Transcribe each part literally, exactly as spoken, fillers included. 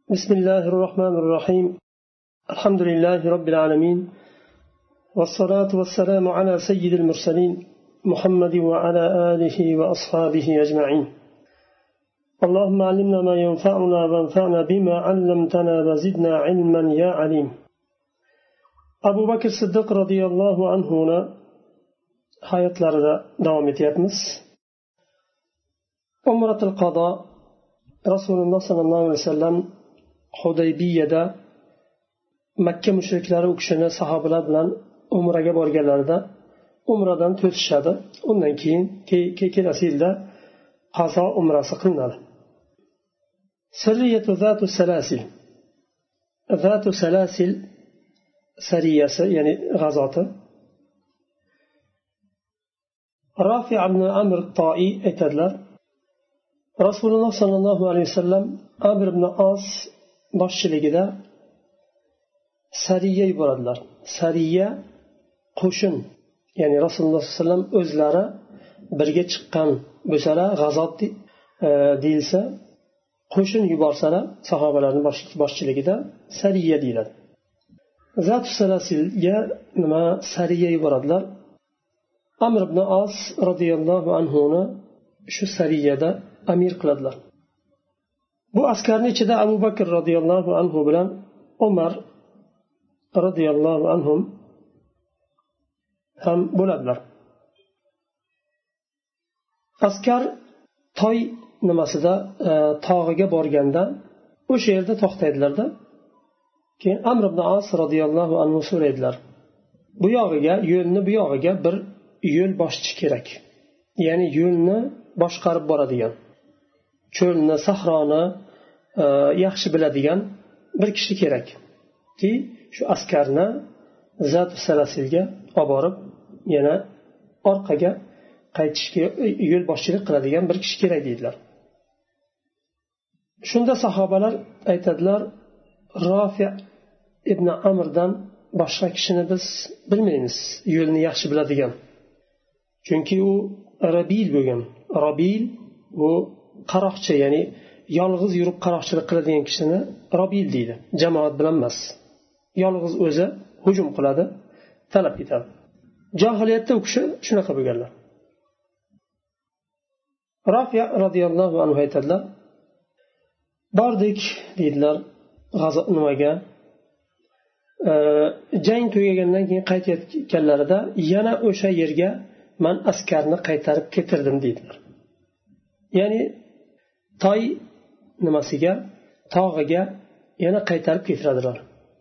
بسم الله الرحمن الرحيم الحمد لله رب العالمين والصلاة والسلام على سيد المرسلين محمد وعلى آله وأصحابه أجمعين اللهم علمنا ما ينفعنا وانفعنا بما علمتنا وزدنا علما يا عليم أبو بكر الصديق رضي الله عنه hayotlarida davom etyapmiz. Umratul Qado Rasululloh sallallohu alayhi vasallam Hudaybiyada Makka mushriklari u kishini sahobalar bilan umraga borganlarida umradan to'sishadi. Undan keyin kelasi yilda qazo umrasi qilinadi. Sariyatu zatu salasil. Zatu salasil sariyasi, ya'ni g'azoti. Rafi' ibn Amr at-Ta'i aytadilar, Rasululloh sallallohu alayhi vasallam Amr ibn As boshchiligida sariya yuboradilar. Sariya qo'shin, ya'ni Rasululloh sallallohu alayhi vasallam o'zlari birga chiqqan bo'lsalar, g'azot deyilsa, qo'shin yuborsalar, sahobalarning boshchiligida sariya deyiladi. Zat salasilga nima sariya yuboradilar? Amr ibn As radhiyallohu anhuni shu sariyada amir qiladilar. Bu askarning ichida Abu Bakr radhiyallohu anhu bilan Umar radhiyallohu anhum ham bo'ladilar. Askar toy nimasida tog'iga borganda o'sha yerda to'xtaydilarda. Keyin Amr ibn As radhiyallohu anhu so'raydilar. Bu yog'iga, yo'lni bu yog'iga bir yo'l boshchi kerak. Ya'ni yo'lni boshqarib boradigan, cho'lni, sahroni e, yaxshi biladigan bir kishi kerak. Ki shu askarni Zatu Salasilga olib borib, yana orqaga qaytishga yo'l boshchilik qiladigan bir kishi kerak deydilar. Shunda sahobalar aytadilar, Rafi' ibn Amrdan boshqa kishini biz bilmaymiz, yo'lni yaxshi biladigan. Chunki u rabil bo'lgan. Rabil bu qaroqchi, ya'ni yolg'iz yurib qaroqchilik qiladigan kishini rabil deydi. Jamoat bilan emas. Yolg'iz o'zi hujum qiladi, talab etadi. Jahiliyatda u kishi shunaqa bo'lganlar. Rafi' radhiyallohu anhu aytadilar, bordik deydilar g'azot nimaga. E, jang tugagandan keyin qaytayotganlarida yana o'sha yerga man askarni qaytarib ketirdim deydilar. Ya'ni toy nimasiga, tog'iga yana qaytarib ketiradilar.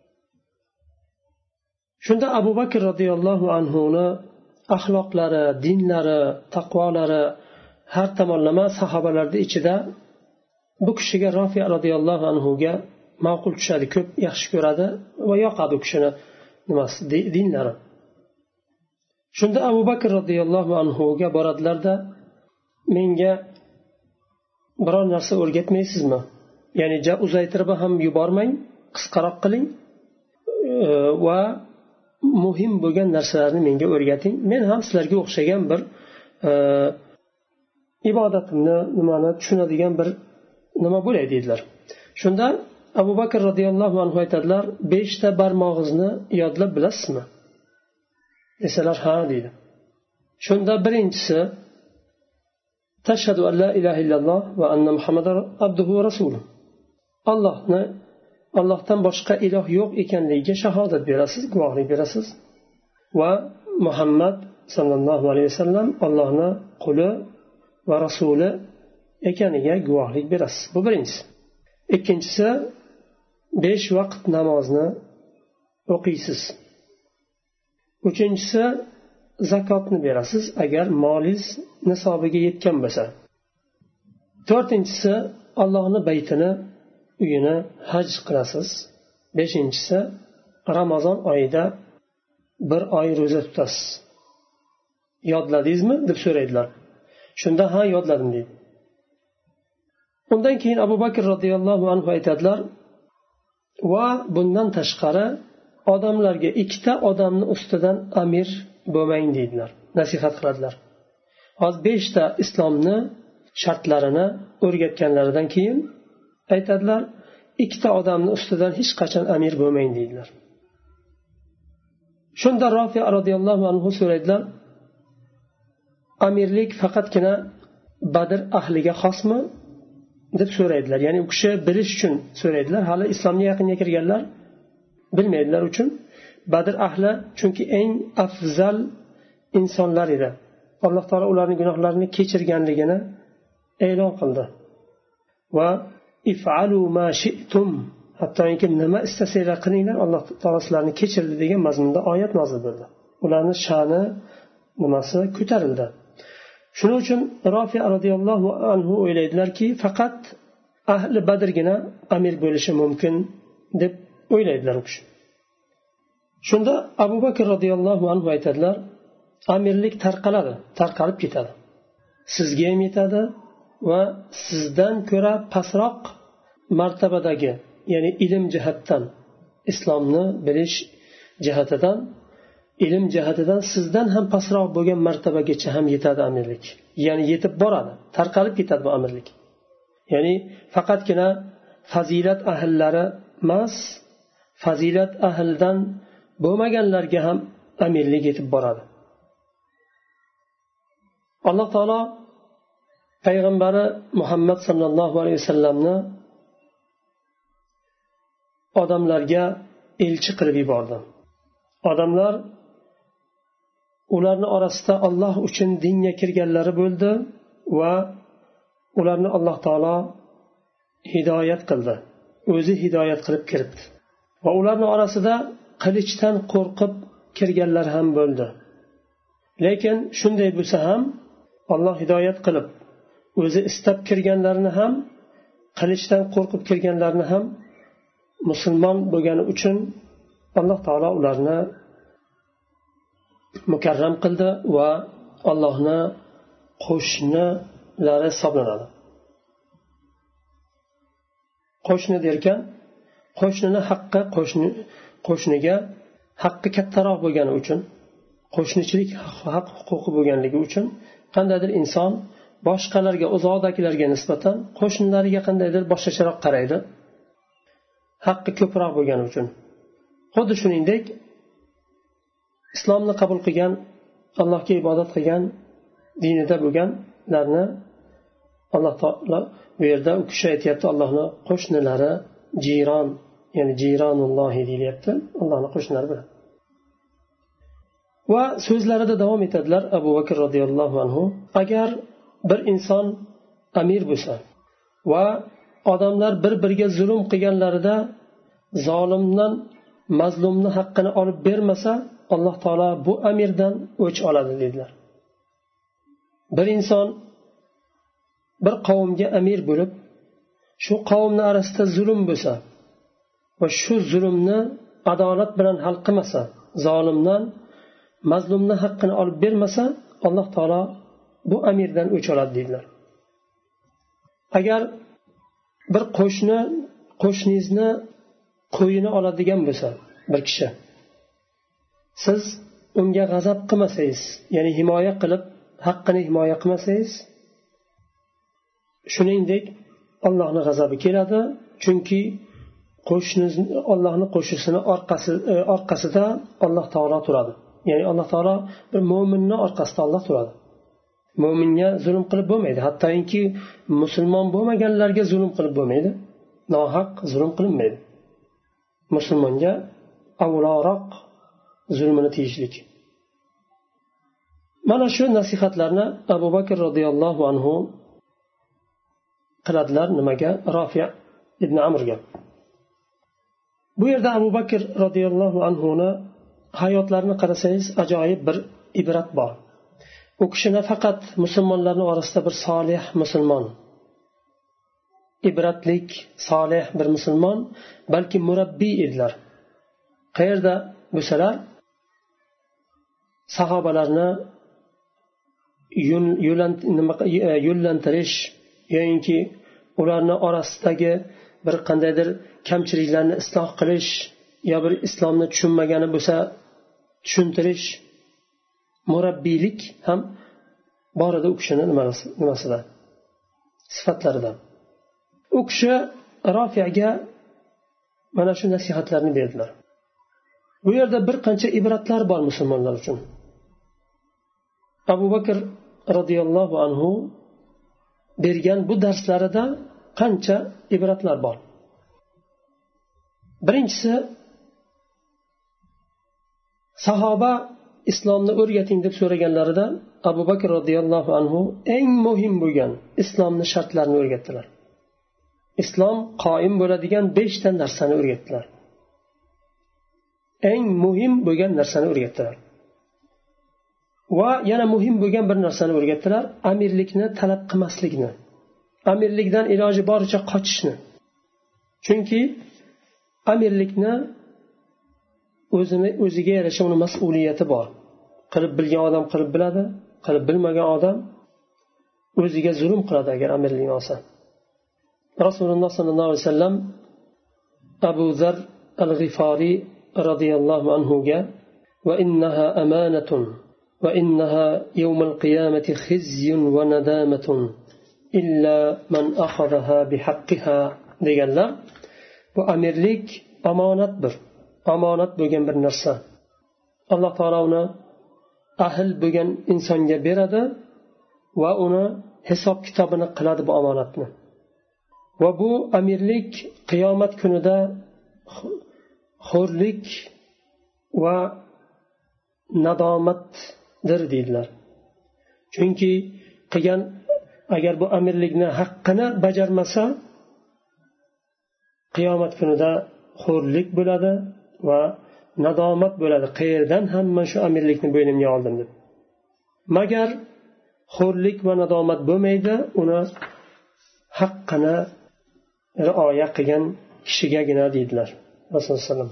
Shunda Abu Bakr radhiyallohu anhuni axloqlari, dinlari, taqvolari har tomonlama sahobalarning ichida bu kishiga Rafi' radhiyallohu anhuga ma'qul tushadi, ko'p yaxshi ko'radi va yoqadi u kishini nimasi, dinlari. Shunda Abu Bakr radhiyallohu anhuga boradilarda, menga biror narsa o'rgatmaysizmi? Ya'ni uzaytirib ham yubormang, qisqaroq qiling va muhim bo'lgan narsalarni menga o'rgating. Men ham sizlarga o'xshagan bir e, ibodatimni nimani tushunadigan bir nima bo'lay dedilar. Shunda Abu Bakr radhiyallohu anhu aytadilar, beshta barmog'ingizni yodlab bilasizmi? Desalar, ha deydi. Shunda birinchisi tashhadu an la ilaha illalloh va anna muhammadar abduhu va rasuluh. Allohni Allohdan boshqa iloh yo'q ekanligiga shahodat berasiz, guvohlik berasiz va Muhammad sallallohu alayhi vasallam Allohning quli va rasuli ekaniga guvohlik berasiz. Bu birinchisi. Ikkinchisi, besh vaqt namozni o'qiysiz. Uchinchisi, zakotni berasiz agar molingiz nisobiga yetgan bo'lsa. To'rtinchisi, Allohning baytini, uyini haj qilasiz. Beshinchisi, Ramazon oyida bir oy ro'za tutasiz. Yodladingizmi deb so'raydilar. Shunda ha, yodladim deydi. Undan keyin Abu Bakr radhiyallohu anhu aytadilar, va bundan tashqari odamlarga ikkita odamni ustidan amir bo'lmang deydilar, nasihat qiladilar. Hozir beshta islomni shartlarini o'rgatganlaridan keyin aytadilar, ikkita odamni ustidan hech qachon amir bo'lmang deydilar. Shunda Rofi radhiyallohu anhu so'raydilar, amirlik faqatgina Badr ahliga xosmi deb so'raydilar. Ya'ni u kishi bilish uchun so'raydilar. Hali islomga yaqinga kirganlar bilmaydilar uchun. Badr ahli chunki eng afzal insonlar edi. Alloh taolo ularning gunohlarini kechirganligini e'lon qildi. Va if'alu ma shi'tum, hattoki nima istasanglar qilinglar, Alloh taolo sizlarni kechirdi degan mazmunda oyat nozil bo'ldi. Ularning sha'ni nimasi ko'tarildi. Shuning uchun Rofi radhiyallohu anhu o'ylaydilarki, faqat ahli Badrgina amir bo'lishi mumkin deb o'ylaydilar u kishi. Shunda Abu Bakr radhiyallohu anhu aytadilar, amirlik tarqaladi, tarqalib ketadi. Sizga ham yetadi va sizdan ko'ra pastroq martabadagi, ya'ni ilm jihatdan, islomni bilish jihatidan, ilm jihatidan sizdan ham pastroq bo'lgan martabagacha ham yetadi amirlik. Ya'ni yetib boradi, tarqalib ketadi bu amirlik. Ya'ni faqatgina fazilat ahllari emas, fazilat ahlidan bo'lmaganlarga ham amirlik yetib boradi. Alloh taolo payg'ambari Muhammad sallallohu alayhi vasallamni odamlarga elchi qilib yubordi. Odamlar ularning orasida Alloh uchun dinga kirganlari bo'ldi va ularni Alloh taolo hidoyat qildi. O'zi hidoyat qilib kiritdi. Va ularning orasida qilichdan qo'rqib kirganlar ham bo'ldi. Lekin shunday bo'lsa ham Alloh hidoyat qilib o'zi istab kirganlarni ham, qilichdan qo'rqib kirganlarni ham musulmon bo'lgani uchun Alloh taolo ularni mukarram qildi va Allohni qo'shnilari hisoblanadi. Qo'shni derkan, qo'shnini haqqi qo'shni qo'shniga haqqi kattaroq bo'lgani uchun, qo'shnichilik haq huquqi bo'lganligi uchun qandaydir inson boshqalarga, uzoqdagilarga nisbatan qo'shnilariga qandaydir boshqacharoq qaraydi, haqqi ko'proq bo'lgani uchun. Xuddi shuningdek, islomni qabul qilgan, Allohga ibodat qilgan, dinida bo'lganlarni Alloh taolo bu yerda u kishi aytayapti, Allohning qo'shnilari, jiron, ya'ni jironullohi deyapti, Allohning qo'shnilari bilan. Va so'zlarida davom etadilar Abu Bakr radhiyallohu anhu, agar bir inson amir bo'lsa va odamlar bir-biriga zulm qilganlarida zolimdan mazlumni haqqini olib bermasa, Alloh taolo bu amirdan o'ch oladi dedilar. Bir inson bir qavmga amir bo'lib, shu qavmni orasida zulm bo'lsa va shu zulmni adolat bilan hal qilmasa, zolimdan mazlumni haqqini olib bermasa, Alloh taolo bu amirdan o'ch oladi dedilar. Agar bir qo'shni qo'shningizni qo'yini oladigan bo'lsa, bir kishi, siz unga g'azab qilmasangiz, ya'ni himoya qilib haqqini himoya qilmasangiz, shuningdek Allohning g'azabi keladi, chunki qo'shniniz Allohning qo'shnisini orqasi orqasida Alloh taolo turadi. Ya'ni Alloh taolo bir mo'minning orqasida Alloh turadi. Mo'minga zulm qilib bo'lmaydi, hattoki musulmon bo'lmaganlarga zulm qilib bo'lmaydi, nohaq zulm qilinmaydi. Musulmonga avvalroq zulmini tiyishlik. Mana shu nasihatlarni Abu Bakr radhiyallohu anhu qiladilar nimaga? Rofi ibn Amrga. Bu yerda Abu Bakr radhiyallohu anhuni hayotlarini qarasangiz ajoyib bir ibrat bor. U kishi nafaqat musulmonlarning orasida bir solih musulmon, ibratlik, solih bir musulmon, balki murabbiy edilar. Qayerda bo'lsalar, sahobalarni yo'llantirish yoki ularning orasidagi bir qandaydir kamchiliklarni isloh qilish, yo bir islomni tushunmagani bo'lsa tushuntirish, murabbiylik ham bor edi u kishining nimasida, sifatlaridan. U kishi Rofiyaga mana shu nasihatlarni berdilar. Bu yerda bir qancha ibratlar bor musulmonlar uchun. Abu Bakr radhiyallohu anhu bergan bu darslarida qancha ibratlar bor. Birinchisi, sahoba islomni o'rgating deb so'raganlarida Abu Bakr radhiyallohu anhu eng muhim bo'lgan islomni shartlarini o'rgatdilar. Islom qoyim bo'ladigan besh ta narsani o'rgatdilar. Eng muhim bo'lgan narsani o'rgatdilar. Va yana muhim bo'lgan bir narsani o'rgatdilar, amirlikni talab qilmaslikni. Amirlikdan iloji boricha qochishni. Chunki amirlikni o'zini o'ziga yarasha uni mas'uliyati bor. Qilib bilgan odam qilib biladi, qilib bilmagan odam o'ziga zulm qiladi agar amirlikni olsa. Rasululloh sollallohu alayhi vasallam Abu Zar al-Ghifari radhiyallohu anhu ga va innaha amanatun va innaha yawmal qiyamati khizyun va nadamatun illa man akhadhaha bihaqqiha deganlar. Bu amirlik omonatdir. Omonat bo'lgan bir narsa. Alloh taolo uni ahl bo'lgan insonga beradi va uni hisob kitobini qiladi bu omonatni. Va bu amirlik qiyomat kunida xo'rlik va nadomatdir deydilar. Chunki qilgan agar bu amirlikni haqqini bajarmasa qiyomat kunida xo'rlik bo'ladi va nadomat bo'ladi. Qayerdan ham men shu amirlikni bo'ynimga oldim deb. Magar xo'rlik va nadomat bo'lmaydi, uni haqqini rioya qilgan kishigagina deydilar Rasululloh sallam.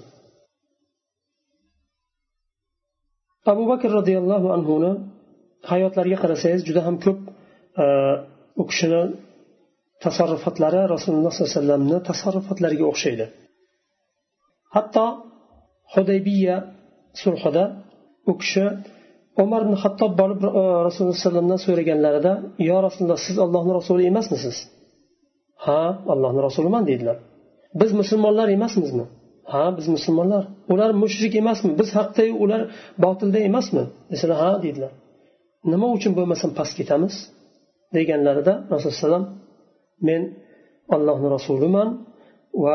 Abu Bakr radhiyallohu anhu ni hayotlariga qarasangiz juda ham ko'p u kishini tasarrufatlari Rasululloh sollallohu alayhi vasallamning tasarrufatlariga o'xshaydi. Hatto Hudaybiya sulhida u kishi Umar ibn Xattob borib Rasululloh sollallohu alayhi vasallamdan so'raganlarida, "Ya Rasululloh, siz Allohning rasuli emasmisiz?" "Ha, Allohning rasuliman" dedilar. "Biz musulmonlar emasmizmi?" "Ha, biz musulmonlar." "Ular mushrik emasmi? Biz haqda ular botilda emasmi?" desalar, "Ha" dedilar. "Nima uchun bo'lmasam past ketamiz?" deganlarida Rasululloh sollallohu alayhi vasallam, "Men Allohning rasuliman va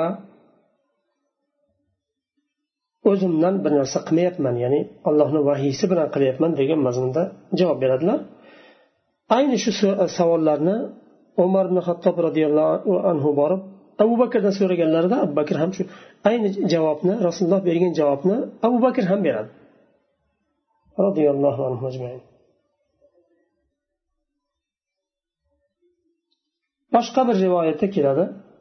o'zimdan bir narsa qilmayapman, ya'ni Allohning vahiysi bilan qilyapman" degan mazmunda javob beradilar. Ayni shu savollarni Umar ibn Xattob radhiyallohu anhu borib Abu Bakrdan so'raganlarida Abu Bakr ham shu ayni javobni, Rasululloh bergan javobni Abu Bakr ham beradi. Radhiyallohu anhu ajmain. Boshqa bir rivoyatda keladi.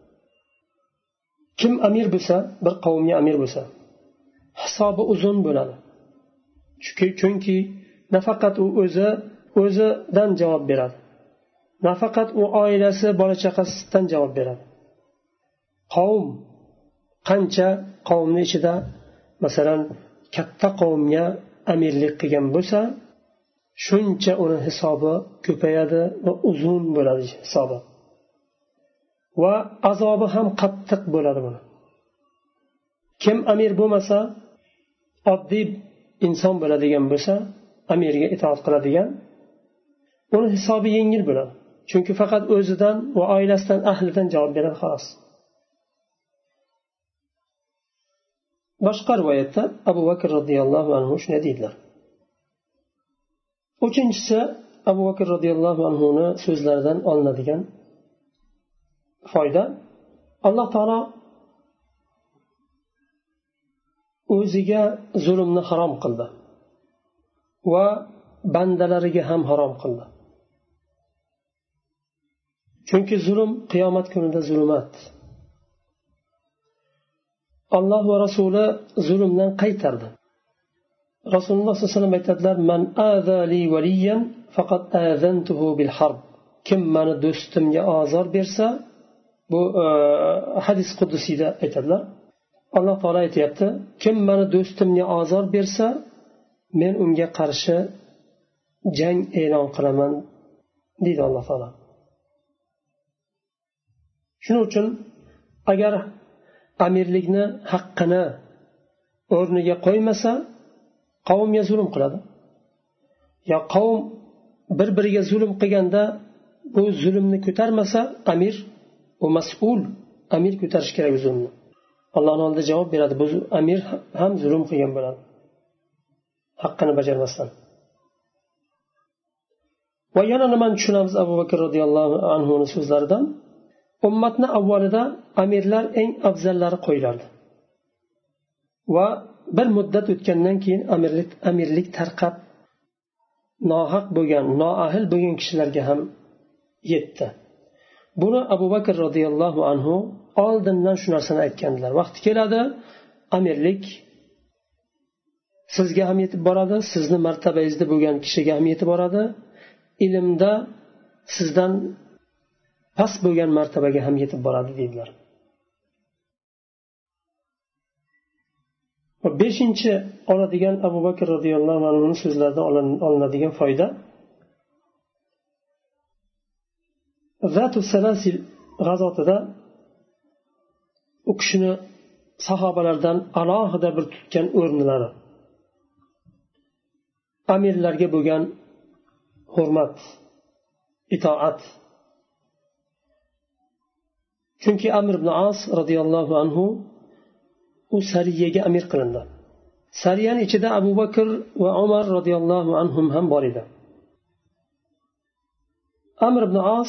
Kim amir bo'lsa, bir qavmga amir bo'lsa, hisobi uzun bo'ladi. Chunki nafaqat u o'zi o'zidan javob beradi. Nafaqat u oilasi, bola chaqasidan javob beradi. Qavm qancha qavmning ichida masalan katta qavmga amirlik qilgan bo'lsa, shuncha uni hisobi ko'payadi va uzun bo'ladi hisobi. Va azobi ham qattiq bo'ladi buni. Kim amir bo'lmasa, oddiy inson bo'ladigan bo'lsa, amirga itoat qiladigan, uni hisobi yengil bo'ladi. Chunki faqat o'zidan va oilasidan, ahlidan javob beradi xolos. Boshqa rivoyatda Abu Bakr radhiyallohu anhu shunday deydilar. Uchinchisi, Abu Bakr radhiyallohu anhu ni so'zlaridan olinadigan foyda, Alloh taolo o'ziga zulmni harom qildi va bandalariga ham harom qildi. Chunki zulm qiyomat kunida zulmat. Alloh va Rasuli zulmdan qaytardi. Rasululloh sollallohu alayhi vasallam aytadilar: "Man aza li waliyan faqat azantuhu bil harb." Kim meni do'stimga ozor bersa, bu hadis qudusiyda aytadilar. Alloh taolo aytayapti: "Kim meni do'stimga ozor bersa, men unga qarshi jang e'lon qilaman" deydi Alloh taolo. Shuning uchun agar amirlikni haqqini o'rniga qo'ymasa qavmga zulm qiladi. yo qavm bir biriga zulm qilganda bu zulmni ko'tarmasa amir u mas'ul, amir ko'tarish kerak zulmni. Allohning oldida javob beradi. Bu amir ham zulm qilgan bo'ladi haqqini bajarmasdan. Va yana nimani tushunamiz Abu Bakr radhiyallohu anhuning so'zlaridan? Ummatni avvalida amirlar eng afzallari qo'yilardi. Va bir muddat o'tgandan keyin amirlik amirlik tarqab nohaq bo'lgan, noahil bo'lgan kishilarga ham yetdi. Buni Abu Bakr radhiyallohu anhu oldindan shu narsani aytgandilar. Vaqti keladi, amirlik sizga ham yetib boradi, sizni martabangizda bo'lgan kishiga ham yetib boradi, ilmda sizdan past bo'lgan martabaga ham yetib boradi dedilar. beshinchi oladigan Abu Bakr radhiyallohu anhuning so'zlaridan olinadigan foyda, Zatu Salasil g'azotida u kishini sahobalardan alohida bir tutgan o'rnlari, amirlarga bo'lgan hurmat, itoat. Chunki Amr ibn As radhiyallohu anhu u sariyaga amir qilindi. Sariyaning ichida Abu Bakr va Umar radhiyallohu anhum ham bor edi. Amr ibn As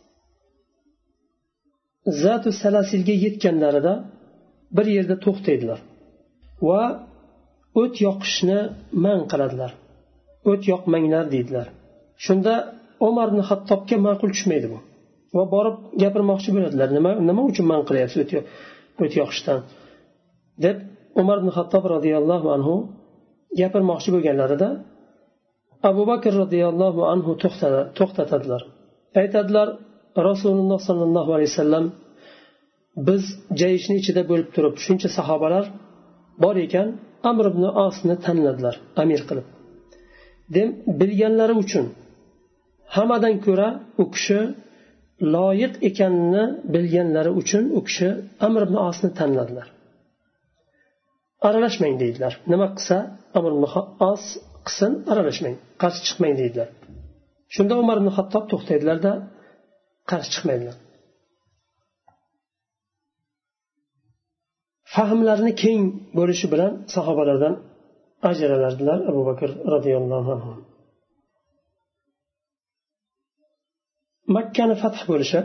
Zatu Salasilga yetganlarida bir yerda to'xtaydilar va o't yoqishni man qiladilar. O't yoqmanglar deydilar. Shunda Umar ibn Xattobga ma'qul tushmaydi bu. Va borib gapirmoqchi bo'ladilar. Nima nima uchun man qilyapsiz o't o't yoqishdan? deb Umar ibn Xattob radhiyallohu anhu gapirmoqchi bo'lganlarida Abu Bakr radhiyallohu anhu to'xtatadilar. Aytadilar, Rasululloh sallallohu alayhi vasallam biz jayishni ichida bo'lib turib shuncha sahobalar bor ekan, Amr ibn Asni tanladilar amir qilib. Dem bilganlari uchun hammadan ko'ra u kishi loyiq ekanini bilganlari uchun u kishi Amr ibn Asni tanladilar. Aralashmang deydilar. Nima qilsa Amr ibn As qilsin, aralashmang, qarshi chiqmang deydilar. Shunda Umar ibn Xattob to'xtaydilar-da, qarshi chiqmaydilar. Fahmlarini keng bo'lishi bilan sahobalardan ajralardilar Abu Bakr radhiyallohu anhu. Makkani fath bo'lishi,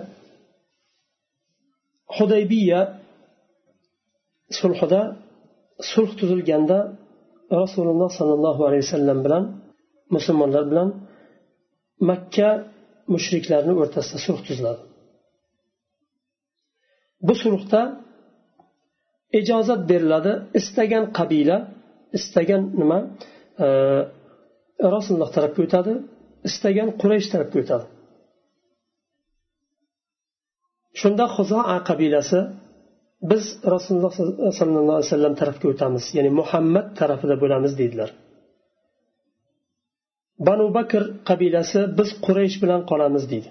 Hudaybiya sulhida sulh tuzilganda Rasululloh sallallohu alayhi vasallam bilan musulmonlar bilan Makka mushriklarning o'rtasida sulh tuziladi. Bu sulhda ijozat beriladi, istagan qabila, istagan nima e, Rasululloh tarafga o'tadi, istagan Quraysh tarafga o'tadi. Shunda Xuzoa qabilasi biz Rasululloh sallallohu alayhi vasallam tarafga o'tamiz, ya'ni Muhammad tarafida bo'lamiz dedilar. Banu Bakr qabilasi biz Quraysh bilan qolamiz dedi.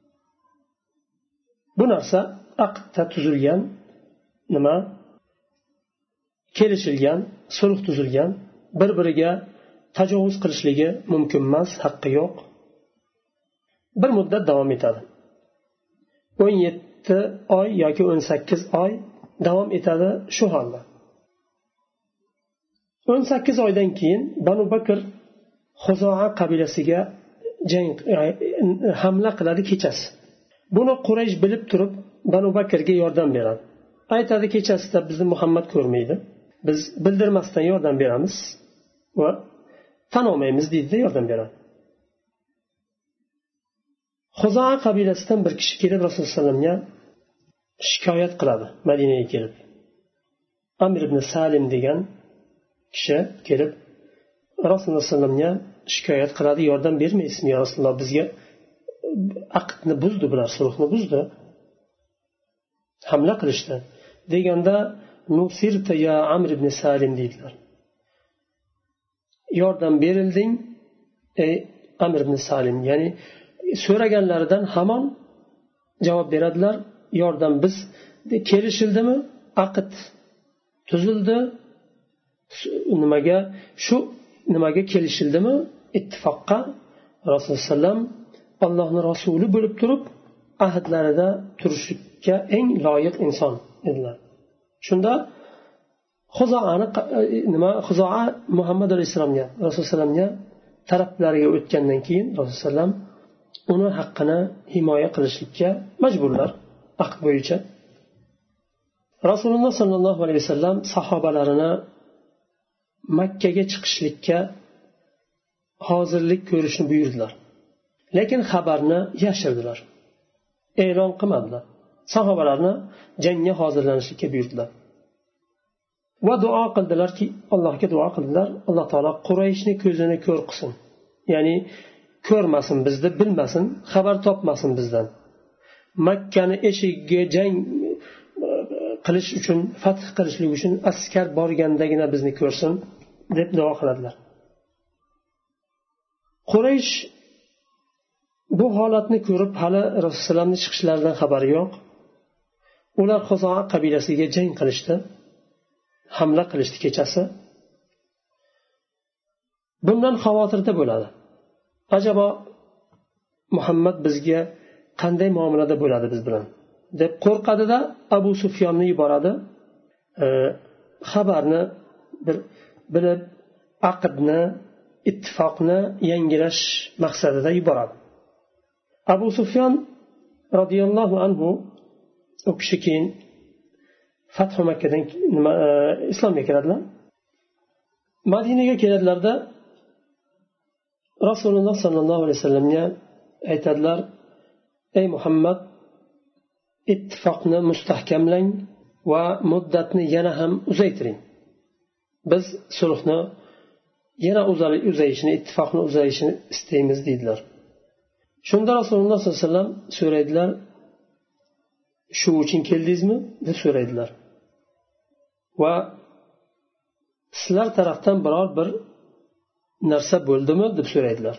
Bu narsa aqdda tuzilgan, nima kelishilgan, sulh tuzilgan, bir-biriga tajovuz qilishligi mumkin emas, haqqi yo'q. Bir muddat davom etadi. o'n yetti oy yoki o'n sakkiz oy davom etadi shu holda. o'n sakkiz oydan keyin Banu Bakr Xuzoa qabilasiga jang hamla qiladi kechasi. Buni Quraysh bilib turib Banu Bakrga yordam beradi. Aytadi, kechasida bizni Muhammad ko'rmaydi. Biz bildirmasdan yordam beramiz va tan olmaymiz deydi, yordam beradi. Xuzoa qabilasidan bir kishi kelib Rasululloh sollallohu alayhi vasallamga shikoyat qiladi. Madinaga kelib Amr ibn Salim degan kishi kelib Rasululloh sollallohu alayhi vasallamga shikoyat qiladi, yordam bermaysizmi ya Rasululloh, bizga aqdni buzdi, bular sulhni buzdi, hamla qilishdi deganda nusirta ya Amr ibn Salim deydilar. Yordam berilding ey Amr ibn Salim, ya'ni so'raganlaridan hamon javob beradilar, yordam biz kelishildimi, aqd tuzildi. Nimaga shu nimaga kelishildimi? Ittifoqqa Rasululloh sallam Allohning rasuli bo'lib turib ahdlarida turishga eng loyiq inson edilar. Shunda Xuzoani nima Xuzoa Muhammad alayhisolamga Rasululloh sallamga taraflariga o'tgandan keyin Rasululloh sallam uni haqqini himoya qilishlikka majburlar aqd bo'yicha. Rasululloh sallallohu alayhi vasallam sahobalarini Makkaga chiqishlikka hozirlik ko'rishni buyurdilar. Lekin xabarni yashirdilar. E'lon qilmadilar. Sahobalarni jangga hozirlanishga buyurdilar. Va duo qildilarki, Allohga duo qildilar. Alloh taolo Qurayshni ko'zini ko'r qilsin. Ya'ni ko'rmasin bizni, bilmasin, xabar topmasin bizdan. Makkani eshigiga jang qilish uchun, fath qilishlik uchun askar borgandagina bizni ko'rsin deb duo qiladilar. Quraysh bu holatni ko'rib hali Rasulullohning chiqishlaridan xabari yo'q. Ular Xuzoa qabilasiga jang qilishdi, hamla qilishdi kechasi. Bundan xavotirda bo'ladi. Ajabo Muhammad bizga qanday muomalada bo'ladi biz bilan deb qo'rqadida Abu Sufyonni yuboradi. E, xabarni bir bilib aqdni, ittifoqni yangilash maqsadida yuboradi. Abu Sufyon radhiyallohu anhu u kishi keyin Fathu Makkadan nima e, islomga kiradilar. Madinaga keladilarda Rasululloh sallallohu alayhi vasallamga aytadilar: "Ey Muhammad, ittifoqni mustahkamlang va muddatni yana ham uzaytiring. Biz sulhni yana uzayishini, ittifoqni uzayishini istaymiz" dedilar. Shunda Rasululloh sollallohu alayhi vasallam so'raydilar: "Shu uchun keldingizmi?" deb so'raydilar. Va sizlar tarafdan biror bir narsa bo'ldimi deb so'raydilar.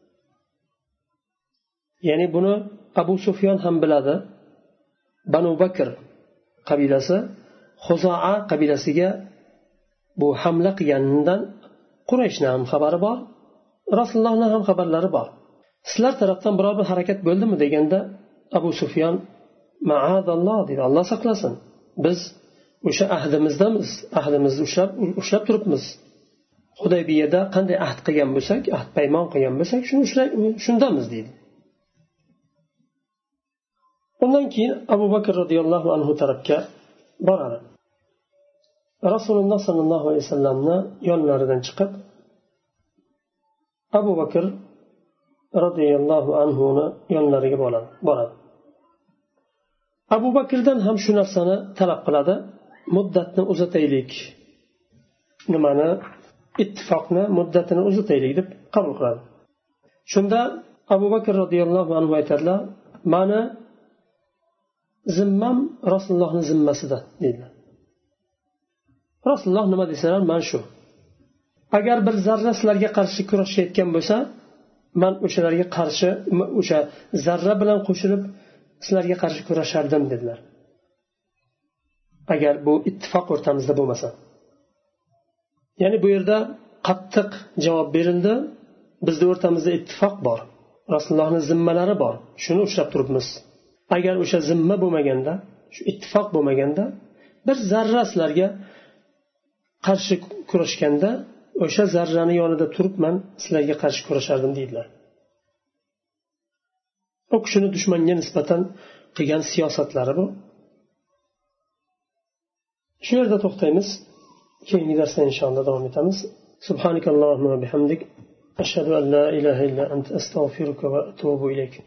Ya'ni buni Abu Sufyon ham biladi. Banu Bakr qabilasi Xuzoa qabilasiga bu hamla qilganidan Qurayshning ham xabari bor, Rasulullohning ham xabarlari bor. Sizlar tarafdan biror bir harakat bo'ldimi deganda Abu Sufyon ma'azalloh dedi, Alloh saqlasin. Biz o'sha ahdimizdamiz, ahdimizni ushlab ushlab turibmiz. Hudaybiyada qanday ahd qilgan bo'lsak, ahd paymon qilgan bo'lsak, shuni shundamiz deydi. Undan keyin Abu Bakr radhiyallohu anhu tarafga boradi. Rasululloh sallallohu alayhi vasallamni yonlaridan chiqib Abu Bakr radhiyallohu anhuni yonlariga boradi. Abu Bakrdan ham shu narsani talab qiladi: muddatni uzataylik. Nimani? Ittifoqni muddatini uzataylik deb qabul qiladi. Shunda Abu Bakr radhiyallohu anhu aytadilar: "Mani zimmam Rasulullohning zimmasida" dedilar. Rasululloh nima desalar, men shu. Agar bir zarra sizlarga qarshi kurashayotgan bo'lsa, men o'shalarga qarshi o'sha zarra bilan qo'shilib sizlarga qarshi kurashardim dedilar. Agar bu ittifoq o'rtamizda bo'lmasa. Ya'ni bu yerda qattiq javob berildi. Bizning o'rtamizda ittifoq bor. Rasulullohning zimmalari bor. Shuni ushlab turibmiz. Agar o'sha zimma bo'lmaganda, shu ittifoq bo'lmaganda, bir zarra sizlarga qarshi kurashganda, o'sha zarrani yonida turib men sizlarga qarshi kurashardim deydilar. O kishini dushmanga nisbatan qilgan siyosatlari bu. Shu yerda to'xtaymiz. Keyingi darsda inshaalloh davom etamiz. Subhanakallohumma va bihamdik ashhadu an la ilaha illa anta astaghfiruka va atubu ilayk.